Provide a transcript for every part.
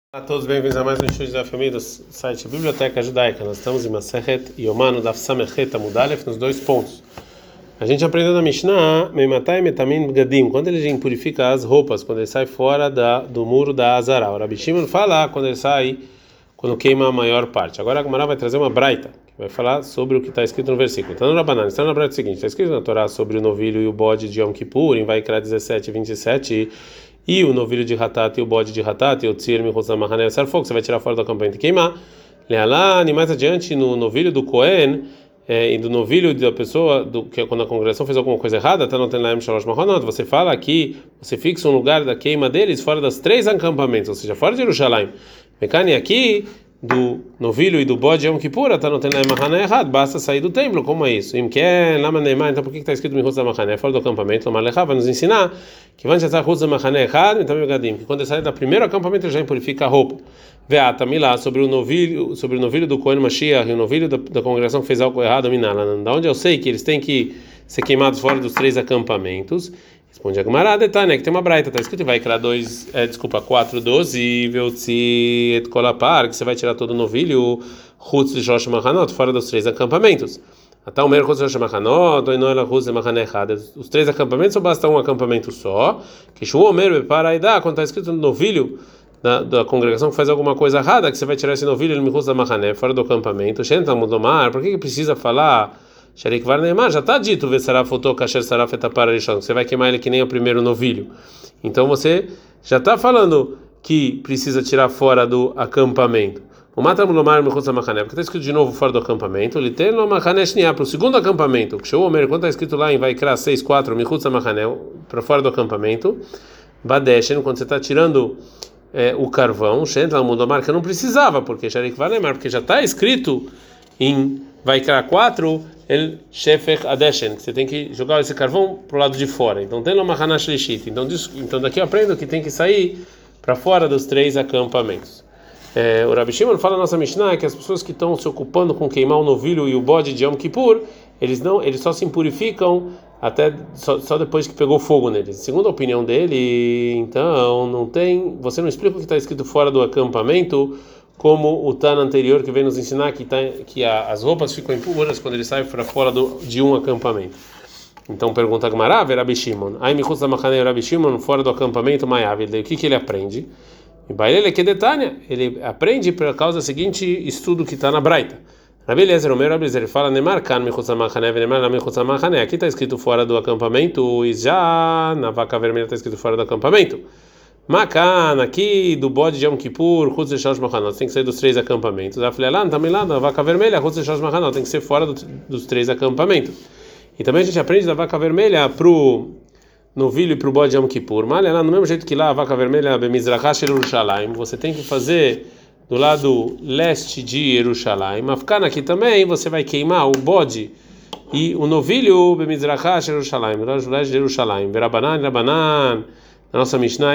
Olá a todos, bem-vindos a mais um estudo da família do site Biblioteca Judaica. Nós estamos em Masechet Yomanu Daf Samechet Amud Aleph nos dois pontos. A gente aprendeu na Mishnah Meimatai Metamin Bgadim, quando ele purifica as roupas, quando ele sai fora do muro da Azara. O Rabi Shimon fala quando queima a maior parte. Agora a Gemara vai trazer uma braita, que vai falar sobre o que está escrito no versículo. Está no Rabanan, está na braita seguinte, está escrito na Torá sobre o novilho e o bode de Yom Kippur, em Vaikra 17 e 27, e o novilho de Hatat e o bode de Hatat, e o tzir michutz hamahaneh asar fogo, você vai tirar fora do acampamento e queimar. Lealá, e mais adiante, no novilho do Cohen, e do novilho da pessoa, que quando a congregação fez alguma coisa errada, tá não tem lá shalosh mahonot, você fala que você fixa um lugar da queima deles fora das 3 acampamentos, ou seja, fora de Jerusalém. Mecane aqui, do novilho e do bode Yom Kippur, tá não tem lá mahané errado, basta sair do templo, como é isso? Então por que está escrito michutz hamahaneh, fora do acampamento? Vai nos ensinar que quando ele sai do primeiro acampamento ele já impurifica a roupa. Veata milá sobre o novilho do Cohen Mashiach e o novilho da congregação que fez algo errado, da onde eu sei que eles têm que ser queimados fora dos 3 acampamentos. Responde a Gemara, detalhe, que tem uma braita, está escrito, vai criar 4:12, veutzi et kolapar, que você vai tirar todo o novilho, chutz de Shlosh Machanot, fora dos 3 acampamentos. Até o mer chutz de Shlosh Machanot, ou inoela chutz de Machaneh Echad, os 3 acampamentos ou basta um acampamento só? Que Shu Omer beparaidá, quando está escrito no novilho da congregação que faz alguma coisa errada, que você vai tirar esse novilho, ele me chutz da Machaneh, fora do acampamento. Shenta mudomar, por que precisa falar? Sharik var neymar, já está dito, vesaraf oto kasher saraf etapar rishon, você vai queimar ele que nem o primeiro novilho. Então você já está falando que precisa tirar fora do acampamento. O matamulomar me chutz hamahaneh, porque está escrito de novo fora do acampamento. Ele tem no hamahaneh shniah para o segundo acampamento. Que show Omer, quando está escrito lá em Vaikra 6:4, me chutz hamahaneh para fora do acampamento. Badeshen, quando você está tirando o carvão, shentla mudomar, que eu não precisava, porque sharik var neymar, porque já está escrito em Vaikra 4, el shefech adeshen, você tem que jogar esse carvão pro lado de fora. Então tem uma hanash lishit. Então daqui eu aprendo que tem que sair para fora dos 3 acampamentos. O Rabi Shimon fala na nossa Mishnah que as pessoas que estão se ocupando com queimar o novilho e o bode de Yom Kippur, eles só se impurificam até só depois que pegou fogo neles. Segundo a opinião dele, então você não explica o que está escrito fora do acampamento, como o Tana anterior que vem nos ensinar que as roupas ficam impuras quando ele sai para fora de um acampamento. Então pergunta a Gemara, Rabi Shimon, aí michutz hamahaneh Rabi Shimon fora do acampamento Mayav, o que ele aprende? E Bailele que detalha, ele aprende por causa do seguinte estudo que está na Braita. Rabi Eliezer, ele fala Neymar kan michutz hamahaneh Neymar na michutz hamahaneh, aqui está escrito fora do acampamento e já na vaca vermelha está escrito fora do acampamento. Macan, aqui do bode de Yom Kippur, chutz de Shlosh Machanot, tem que sair dos 3 acampamentos. A filha lá, também lá, da vaca vermelha, chutz de Shlosh Machanot, tem que ser fora dos 3 acampamentos. E também a gente aprende da vaca vermelha pro novilho e pro bode de Yom Kippur. Mas lá, no mesmo jeito que lá, a vaca vermelha, Bemizrachá Yerushalayim, você tem que fazer do lado leste de Yerushalayim. Afkan, aqui também, você vai queimar o bode e o novilho, Bemizrachá Yerushalayim, do lado leste de Yerushalayim. Rabanan. Na nossa Mishnah,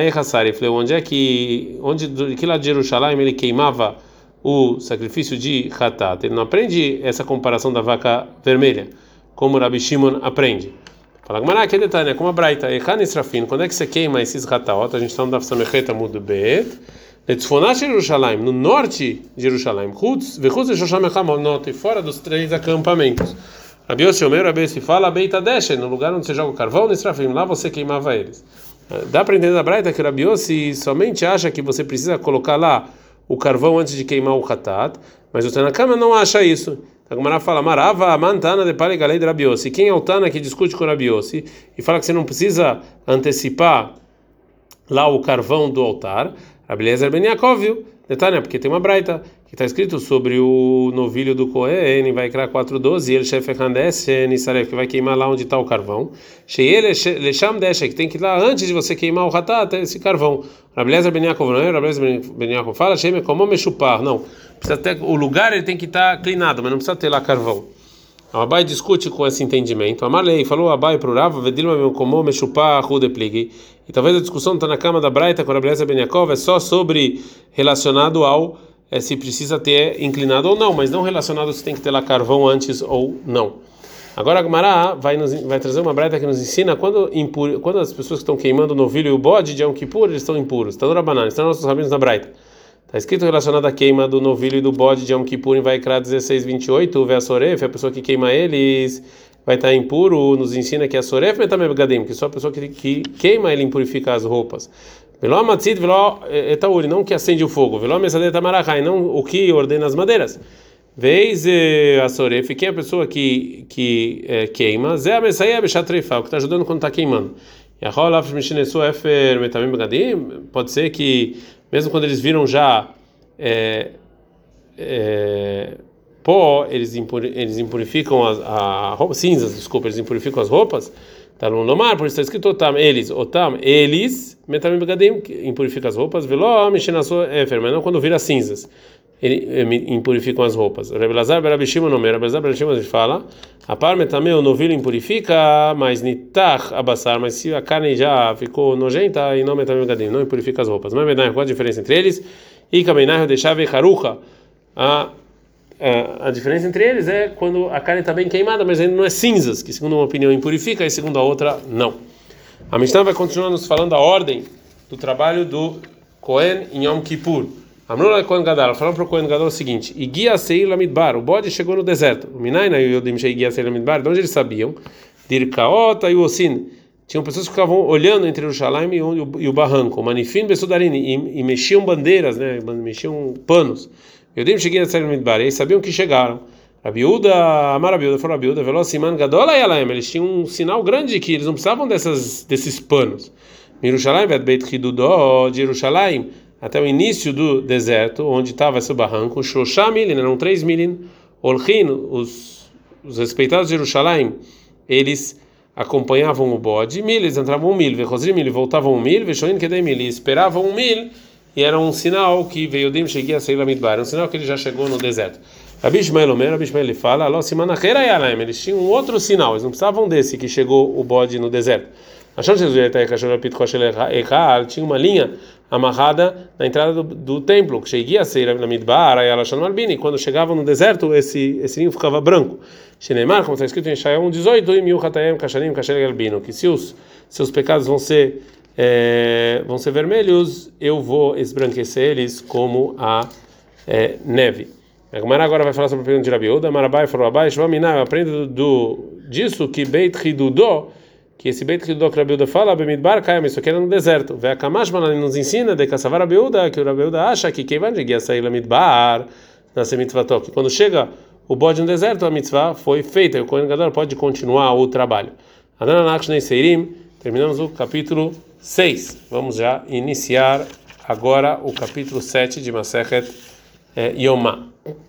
que lado de Jerusalém ele queimava o sacrifício de Hatat. Ele não aprende essa comparação da vaca vermelha, como Rabi Shimon aprende. Fala, Gemara, que detalhe, né? Como a Braita, quando é que você queima esses Hatat? A gente está no Daf Samechet Amud Bet, Jerusalém, no norte de Jerusalém, e fora dos 3 acampamentos. Rabi Yossi Omer, Rabi Yossi fala, Beita Deshen, no lugar onde você joga o carvão, Nisrafim, lá você queimava eles. Dá para entender da Braita que o Rabi Yossi somente acha que você precisa colocar lá o carvão antes de queimar o Hatat, mas o Tanakama não acha isso. A Gemara fala, Marava, Mantana de Palegalei de Rabi Yossi. Quem é o Tana que discute com o Rabi Yossi e fala que você não precisa antecipar lá o carvão do altar? Rabi Eliezer ben Yaakov, viu? Detalhe, porque tem uma Braita que está escrito sobre o novilho do Cohen, vai criar 4:12, ele shefech hadeshen isaref, que vai queimar lá onde está o carvão. Sheele lesham deshe, que tem que ir lá antes de você queimar o hatat, esse carvão. Rabi Eliezer ben Yaakov, não é? Rabi Eliezer ben Yaakov fala, sheme como mechupar, não. Precisa ter o lugar, ele tem que estar clinado, mas não precisa ter lá carvão. O Abai discute com esse entendimento. Amalei falou Abai para o Rava, vedilma como mechupar rudepligi. E talvez a discussão está na cama da Braita com a Rabi Eliezer ben Yaakov é só sobre relacionado ao se precisa ter inclinado ou não, mas não relacionado se tem que ter lá carvão antes ou não. Agora a Gemara vai trazer uma braita que nos ensina quando as pessoas que estão queimando o novilho e o bode de Yom Kippur, eles estão impuros. Está no Rabanan, estão nossos rabinos na braita. Está escrito relacionado à queima do novilho e do bode de Yom Kippur em Vaikra 16:28, o Ve'asoref, a pessoa que queima eles vai estar impuro, nos ensina que a Soref Metameh Begadim, que só a pessoa que queima ele impurifica as roupas. Veló Matzit, veló Etauri, não que acende o fogo, veló Mesadeh Tamarachai, não o que ordena as madeiras. Vez a Soref, quem é a pessoa que queima, Zé a Messaia Bechatreifá, o que está ajudando quando está queimando. E a Rolaf Mishinesu Efer Metameh Begadim, pode ser que, mesmo quando eles viram já pó, eles impurificam a roupa, cinzas, desculpa, eles impurificam as roupas. Tá no mar, por isso está escrito eles, metamim begadim, impurificam as roupas, veló, mexenaço, mas não quando vira cinzas, impurificam as roupas. Rebbe Lazar, Rebbe Shimon, Rebbe Shimon fala, a par metamim, o novilho impurifica, mas nitach abassar, mas se a carne já ficou nojenta, e não metamim begadim, não impurifica as roupas. Mas qual a diferença entre eles? E kamenah deixava harucha, a diferença entre eles é quando a carne está bem queimada, mas ainda não é cinzas, que segundo uma opinião impurifica e segundo a outra não. A Mishnah vai continuar nos falando a ordem do trabalho do Kohen em Yom Kippur. Amrula Kohen Gadol, falando para o Kohen Gadol o seguinte: Igia Seir Lamidbar, o bode chegou no deserto. O Minaina e o Yodim Sheigia Seir Lamidbar, de onde eles sabiam? Dirkaota e o Osin. Tinham pessoas que ficavam olhando entre o Jerusalém e o barranco, o Manifim Besudarini, e mexiam bandeiras, né? Mexiam panos. Yodim cheguei a sair no Midbar, e eles sabiam que chegaram. Rabiúda, Amar Rabiúda, falou Rabiúda, Velociman Gadola Yalaem, eles tinham um sinal grande que eles não precisavam desses panos. Mirushalayim, Beit Hidudó, de Jerusalém, até o início do deserto, onde estava esse barranco, Shoshá Milin, eram 3 milin, Olchin, os respeitados de Jerusalém, eles acompanhavam o bode, eles entravam 1.000, Vechosrim, voltavam 1.000, Veshoin Kedei 1.000, esperavam 1.000, e era um sinal que veio Yodim cheguei a sair lá Midbar, um sinal que ele já chegou no deserto. Rabi Ishmael ele fala, eles tinham um outro sinal, eles não precisavam desse que chegou o bode no deserto. Achando que Jesus tinha uma linha amarrada na entrada do templo, que cheguei a sair lá Midbar, quando chegavam no deserto, esse linho ficava branco. Shenemar, como está escrito em Ishaiah 1:18, que se os seus pecados vão ser vermelhos, eu vou esbranquecer eles como a neve. A Gemara agora vai falar sobre o pergunta de Rabiúda. Marabai falou abaixo, eu aprendo disso que Beit Hidudó, que esse Beit Hidudó que Rabiúda fala, Bemidbar Kayam, isso aqui era no deserto. Ve Akamashman nos ensina de Kassavar Rabiúda, que o Rabiúda acha que quem vai chegar a sair Lamidbar, nasce mitzvah, que quando chega o bode no deserto, a mitzvah foi feita, e o Kohen Gadol pode continuar o trabalho. Adananak Shnei Seirim, terminamos o capítulo 6. Vamos já iniciar agora o capítulo 7 de Masechet Yomá.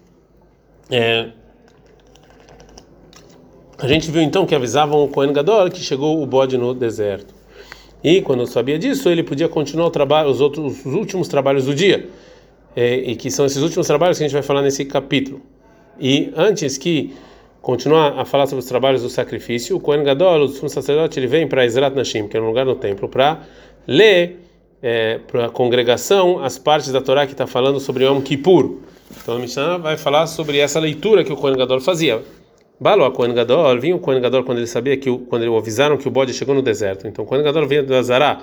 A gente viu então que avisavam o Kohen Gadol que chegou o bode no deserto. E quando sabia disso, ele podia continuar o trabalho, os últimos trabalhos do dia. E que são esses últimos trabalhos que a gente vai falar nesse capítulo. E antes que continuar a falar sobre os trabalhos do sacrifício, o Kohen Gadol, o sumo sacerdote, ele vem para Ezrat Nashim, que é um lugar no templo, para ler para a congregação as partes da Torá que está falando sobre Yom Kippur. Então a Mishnah vai falar sobre essa leitura que o Kohen Gadol fazia. Balo, a Kohen Gadol, vinha o Kohen Gadol quando ele sabia quando eles avisaram que o bode chegou no deserto. Então o Kohen Gadol vinha do Azará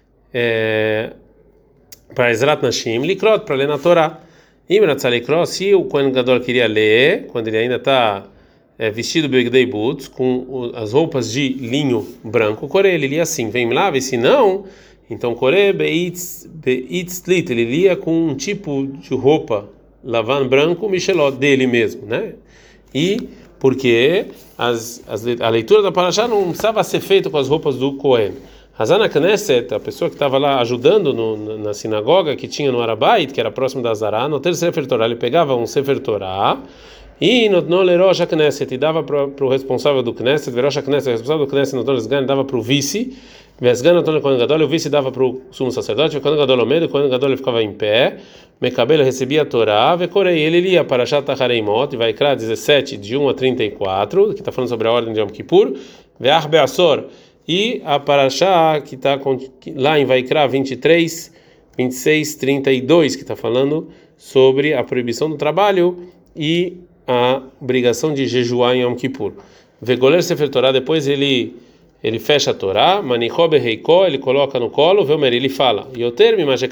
para Ezrat Nashim, Likrot, para ler na Torá. Se o Kohen Gadol queria ler, quando ele ainda está vestido Begdei Boots, com as roupas de linho branco, ele lia assim, vem lá, e se não, então Beitz Lit, ele lia com um tipo de roupa lavan branco, Michelot, dele mesmo, né? E porque a leitura da Parashá não precisava ser feita com as roupas do Kohen. Hazana Knesset, a pessoa que estava lá ajudando na sinagoga que tinha no Arabait, que era próximo da Azará, no terceiro Sefer Torah, ele pegava um Sefer Torah e no Lerosh Knesset, e dava para o responsável do Knesset, Verosh Knesset, o responsável do Knesset, no Tonesgan, dava para o vice, Vesgan no Kohen Gadol, o vice dava para o sumo sacerdote, o Kohen Gadol ao meio, o Kohen Gadol ficava em pé, Mekabel recebia a Torá, Vekorei, ele lia Parashat Achareimot, Vaikra 17, de 1 a 34, que está falando sobre a ordem de Yom Kippur, Ve'ach Be'asor, e a Parashá que está lá em Vaikra 23, 26, 32, que está falando sobre a proibição do trabalho e a obrigação de jejuar em Yom Kippur. Vegoler Sefer Torah, depois ele ele fecha a Torá, manichobe reikó, ele coloca no colo, Velmer, ele fala, e eu termo, mais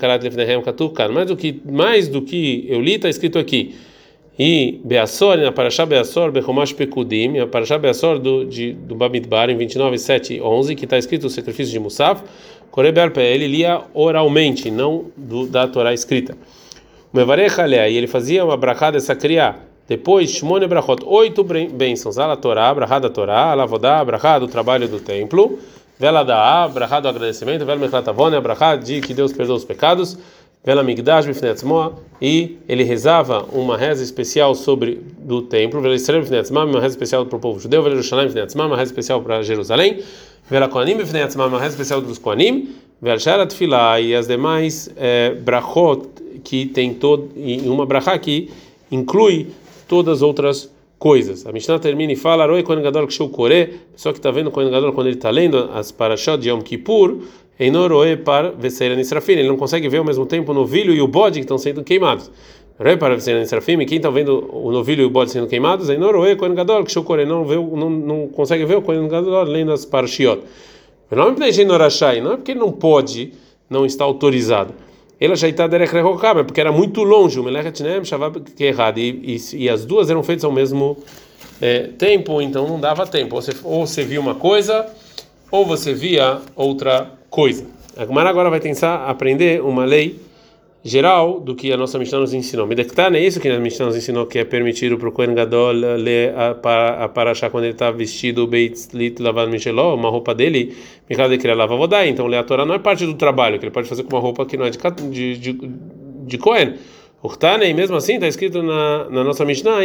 do que eu li, está escrito aqui, e Beassor, na Parashá Beassor, Bechomash Pekudim, a Parashá Beassor do Bamidbar, em 29, 7 e 11, que está escrito o sacrifício de Musaf, Koreber Pé, ele lia oralmente, não da Torá escrita. O Mevarech Alea, e ele fazia uma brachá dessa criá. Depois, Shmone Brachot, 8 bênçãos. Ala Torá, brachá da Torá, ala Vodá, brachá do trabalho do templo, vela da brachá do agradecimento, vela Mechlatavone, brachá de que Deus perdoa os pecados, vela Migdash Bifnetzmoa, e ele rezava uma reza especial do templo, vela Israel Bifnetzmoa, uma reza especial para o povo judeu, vela Jerusalém Bifnetzmoa, uma reza especial para Jerusalém, vela Koanim Bifnetzmoa, uma reza especial dos Koanim, vela Sharat Filah e as demais brachot que tem em uma brachá que inclui todas as outras coisas. A Mishnah termina e fala: Aroi Kohen Gadol Ksheu Koreh, pessoa que está vendo o Kohen Gadol quando ele está lendo as parashot de Yom Kippur, Eino Roe par Veseira Nisrafim, ele não consegue ver ao mesmo tempo o novilho e o bode que estão sendo queimados. Roe par Veseira Nisrafim, quem está vendo o novilho e o bode sendo queimados, Eino Roe Kohen Gadol Ksheu Koreh, não consegue ver o Kohen Gadol lendo as parashiot. Não é porque ele não pode, não está autorizado. Ela já está derech rehokam, porque era muito longe, o melechet nem shavab que errado, e as duas eram feitas ao mesmo tempo, então não dava tempo. Ou você via uma coisa, ou você via outra coisa. A Gemara agora vai tentar aprender uma lei geral do que a nossa Mishnah nos ensinou. Medektan é isso que a Mishnah nos ensinou, que é permitido para o Kohen Gadol ler a parashá quando ele está vestido beitzlit lavad micheló, uma roupa dele, mikal de kriya lavavodai. Então ler a Torá não é parte do trabalho, que ele pode fazer com uma roupa que não é de Kohen. E mesmo assim está escrito na nossa Mishnah,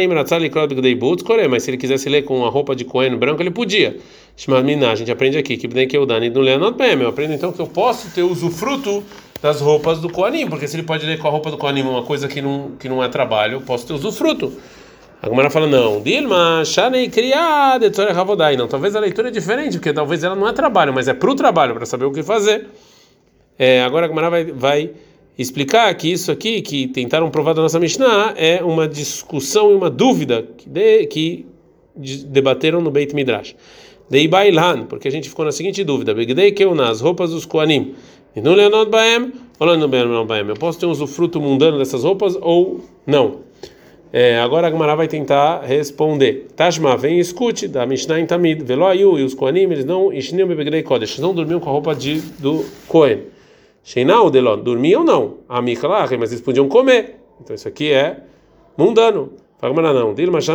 mas se ele quisesse ler com uma roupa de Kohen branco, ele podia. A gente aprende aqui que eu aprendo então que eu posso ter usufruto das roupas do Kohanim, porque se ele pode ler com a roupa do Kohanim uma coisa que não é trabalho, eu posso ter usufruto. A Gemara fala, não, Dilma, Shanei Kriya, Detzoreh Havodai. Não, talvez a leitura é diferente, porque talvez ela não é trabalho, mas é para o trabalho, para saber o que fazer. Agora a Gemara vai explicar que isso aqui, que tentaram provar da nossa Mishnah, é uma discussão e uma dúvida que debateram no Beit Midrash. Dei Bailan, porque a gente ficou na seguinte dúvida: Begdei Keuna, as roupas dos Kohanim. E não leonot baem, ou não baem. Eu posso ter um usufruto mundano dessas roupas ou não? Agora a Gemara vai tentar responder. Tashma, vem e escute da Mishnah em Tamid. Velo ayu, e os Kohanim, eles não enchiniam bebegrei kodesh, eles não dormiam com a roupa do Kohen. Sheinau delon, dormiam não. A Miklah, mas eles podiam comer. Então isso aqui é mundano. Fala, não,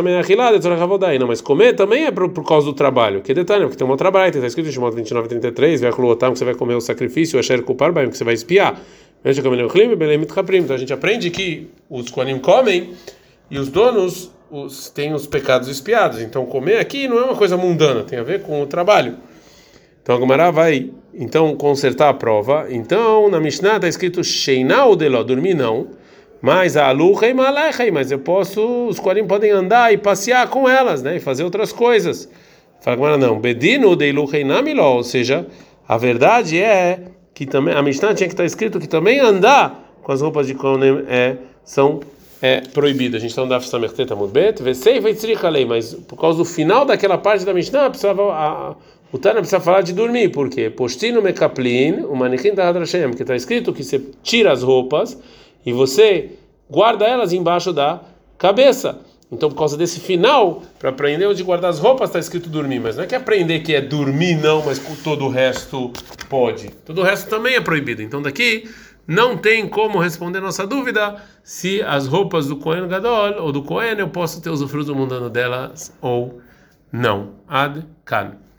não, mas comer também é por causa do trabalho. Que detalhe, porque tem uma trabalho, está escrito em Shemot 29:33, vai que você vai comer o sacrifício, que você vai espiar. Então a gente aprende que os Kohanim comem e os donos têm os pecados espiados. Então comer aqui não é uma coisa mundana, tem a ver com o trabalho. Então a Gemara vai então consertar a prova. Então na Mishnah está escrito Sheinau deló, dormir não. Mas a aluchei malechei, mas os Kohanim podem andar e passear com elas, né, e fazer outras coisas. Fala, não, bedino deiluchei namiló, ou seja, a verdade é que também a Mishnah tinha que estar escrito que também andar com as roupas de Kohanim são proibido. A gente está no Daf Samechet Amud Bet, vesei veitzrich alei, mas por causa do final daquela parte da Mishnah o Tana precisa falar de dormir, por quê? Postino mekaplin, o manichin tahad Hashem, que está escrito que você tira as roupas e você guarda elas embaixo da cabeça. Então, por causa desse final, para aprender onde guardar as roupas, está escrito dormir. Mas não é que aprender que é dormir, não, mas com todo o resto pode. Todo o resto também é proibido. Então, daqui não tem como responder nossa dúvida se as roupas do Kohen Gadol ou do Kohen eu posso ter usufruto mundano delas ou não. Ad Kan.